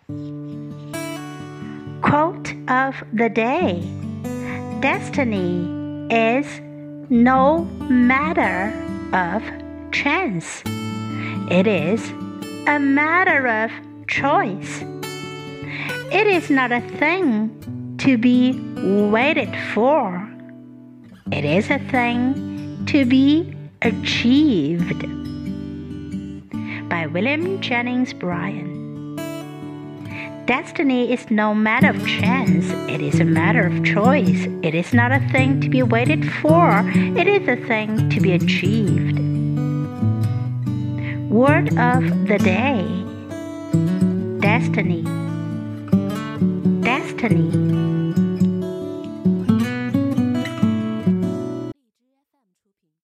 Quote of the day: Destiny is no matter of chance. It is a matter of choice. It is not a thing to be waited for. It is a thing to be achieved. By William Jennings Bryan. Destiny is no matter of chance. It is a matter of choice. It is not a thing to be waited for. It is a thing to be achieved. Word of the day: Destiny. Destiny.